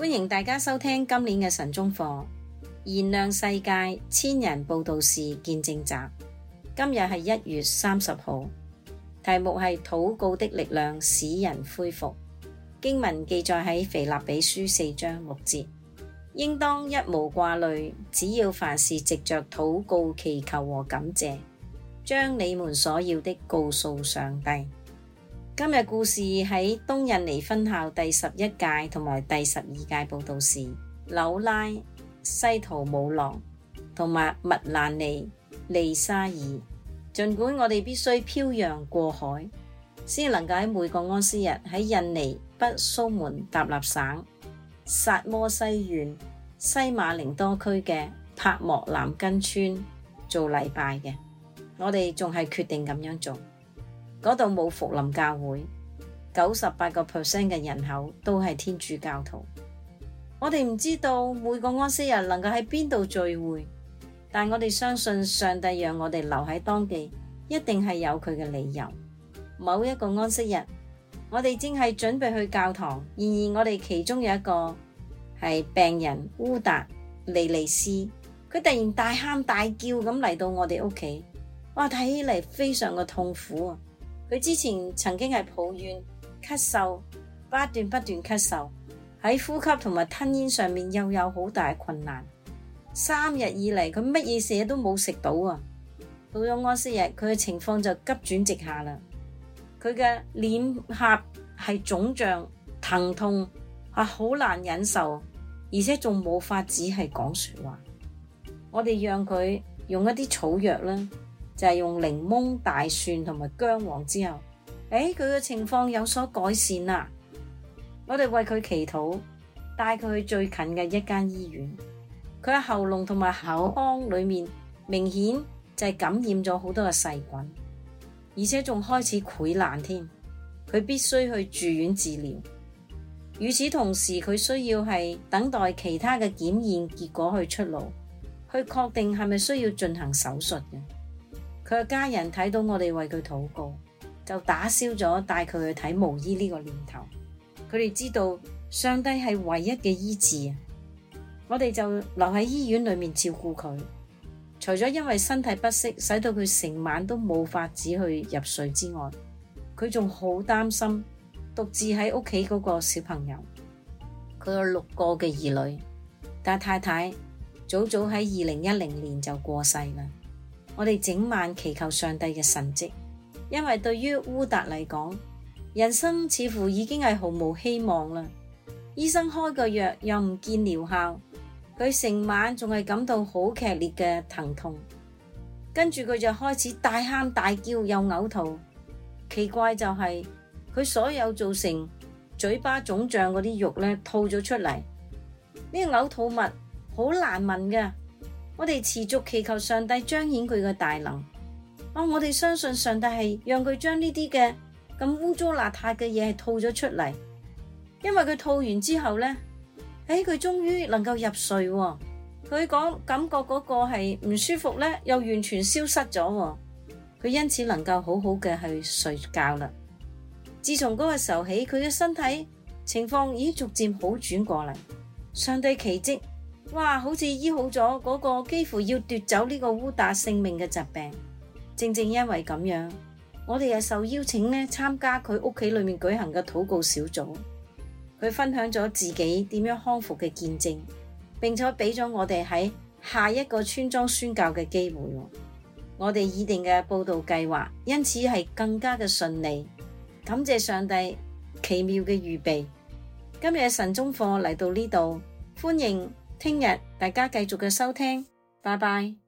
歡迎大家收聽今年嘅晨鐘課，燃亮世界千人佈道士見證集。今日係1月30號，題目係禱告的力量使人恢復。經文記載喺腓立比書4章6節，應當一無掛慮，只要凡事藉着禱告、祈求和感謝，將你們所要的告訴上帝。今日故事喺東印尼分校第11屆同埋第12屆佈道士紐拉、西圖姆朗同埋麥蘭尼利沙爾。儘管我哋必須漂洋過海，先能夠喺每個安息日喺印尼北蘇門答臘省薩摩西縣西馬寧多區嘅帕莫南根村做禮拜嘅，我哋仲係決定咁樣做。嗰度冇福林教會，98% 嘅人口都係天主教徒。我哋唔知道每個安息日能夠喺邊度聚會，但我哋相信上帝讓我哋留喺當地，一定係有佢嘅理由。某一個安息日，我哋正係準備去教堂，然而我哋其中有一個係病人烏達利利斯，佢突然大喊大叫咁嚟到我哋屋企，哇！睇起嚟非常嘅痛苦啊！佢之前曾經係抱怨咳嗽，不斷咳嗽，喺呼吸同埋吞咽上面又有好大困難。3日以嚟，佢乜嘢嘢都冇食到啊！到咗安息日，佢嘅情況就急轉直下啦。佢嘅臉頰係腫脹、疼痛，好難忍受，而且仲冇法子係講說話。我哋讓佢用一啲草藥啦。就係用檸檬、大蒜同埋薑黃之後，佢嘅情況有所改善啦。我哋為佢祈禱，帶佢去最近嘅一間醫院。佢喺喉嚨同埋口腔裏面明顯就係感染咗好多嘅細菌，而且仲開始潰爛添。佢必須去住院治療。與此同時，佢需要係等待其他嘅檢驗結果去出爐，去確定係咪需要進行手術嘅。佢嘅家人睇到我哋為佢禱告，就打消咗帶佢去睇巫醫呢個念頭。佢哋知道上帝係唯一嘅醫治，我哋就留喺醫院裏面照顧佢。除咗因為身體不適，使到佢成晚都冇法子去入睡之外，佢仲好擔心獨自喺屋企嗰個小朋友。佢有6個嘅兒女，但太太早喺2010年就過世啦。我哋整晚祈求上帝嘅神蹟，因為對於烏達嚟講，人生似乎已經係毫無希望啦。醫生開個藥又唔見療效，佢成晚仲係感到好劇烈嘅疼痛，跟住佢就開始大喊大叫又嘔吐。奇怪就係佢所有造成嘴巴腫脹嗰啲肉咧吐咗出嚟，呢個嘔吐物好難聞㗎。我哋持續祈求上帝彰顯佢嘅大能。我哋相信上帝係讓佢將呢啲嘅咁污糟邋遢嘅嘢係吐咗出嚟，因為佢吐完之後呢，佢終於能夠入睡。佢感覺嗰個係唔舒服呢，又完全消失咗。佢因此能夠好好嘅去睡覺啦。自從嗰個時候起，佢嘅身體情況已經逐漸好轉過嚟。上帝奇蹟。哇！好似醫好咗嗰個幾乎要奪走呢個烏達性命嘅疾病。正因為咁樣，我哋又受邀請參加佢屋企裏面舉行嘅禱告小組。佢分享咗自己點樣康復嘅見證，並且俾咗我哋喺下一個村莊宣教嘅機會。我哋擬定嘅佈道計劃因此係更加嘅順利。感謝上帝奇妙嘅預備。今日嘅晨鐘課嚟到呢度，歡迎聽日大家繼續嘅收聽，拜拜。